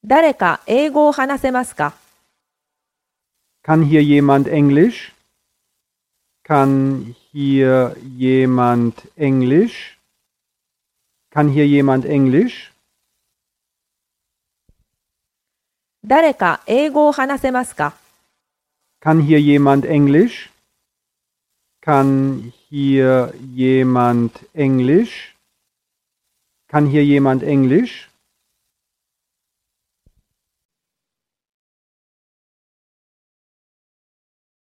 誰か英語を話せますか？ Kann hier jemand Englisch? Kann hier jemand Englisch? Kann hier jemand Englisch? 誰か英語を話せますか？ Kann hier jemand Englisch? Kann hier jemand Englisch? Kann hier jemand Englisch?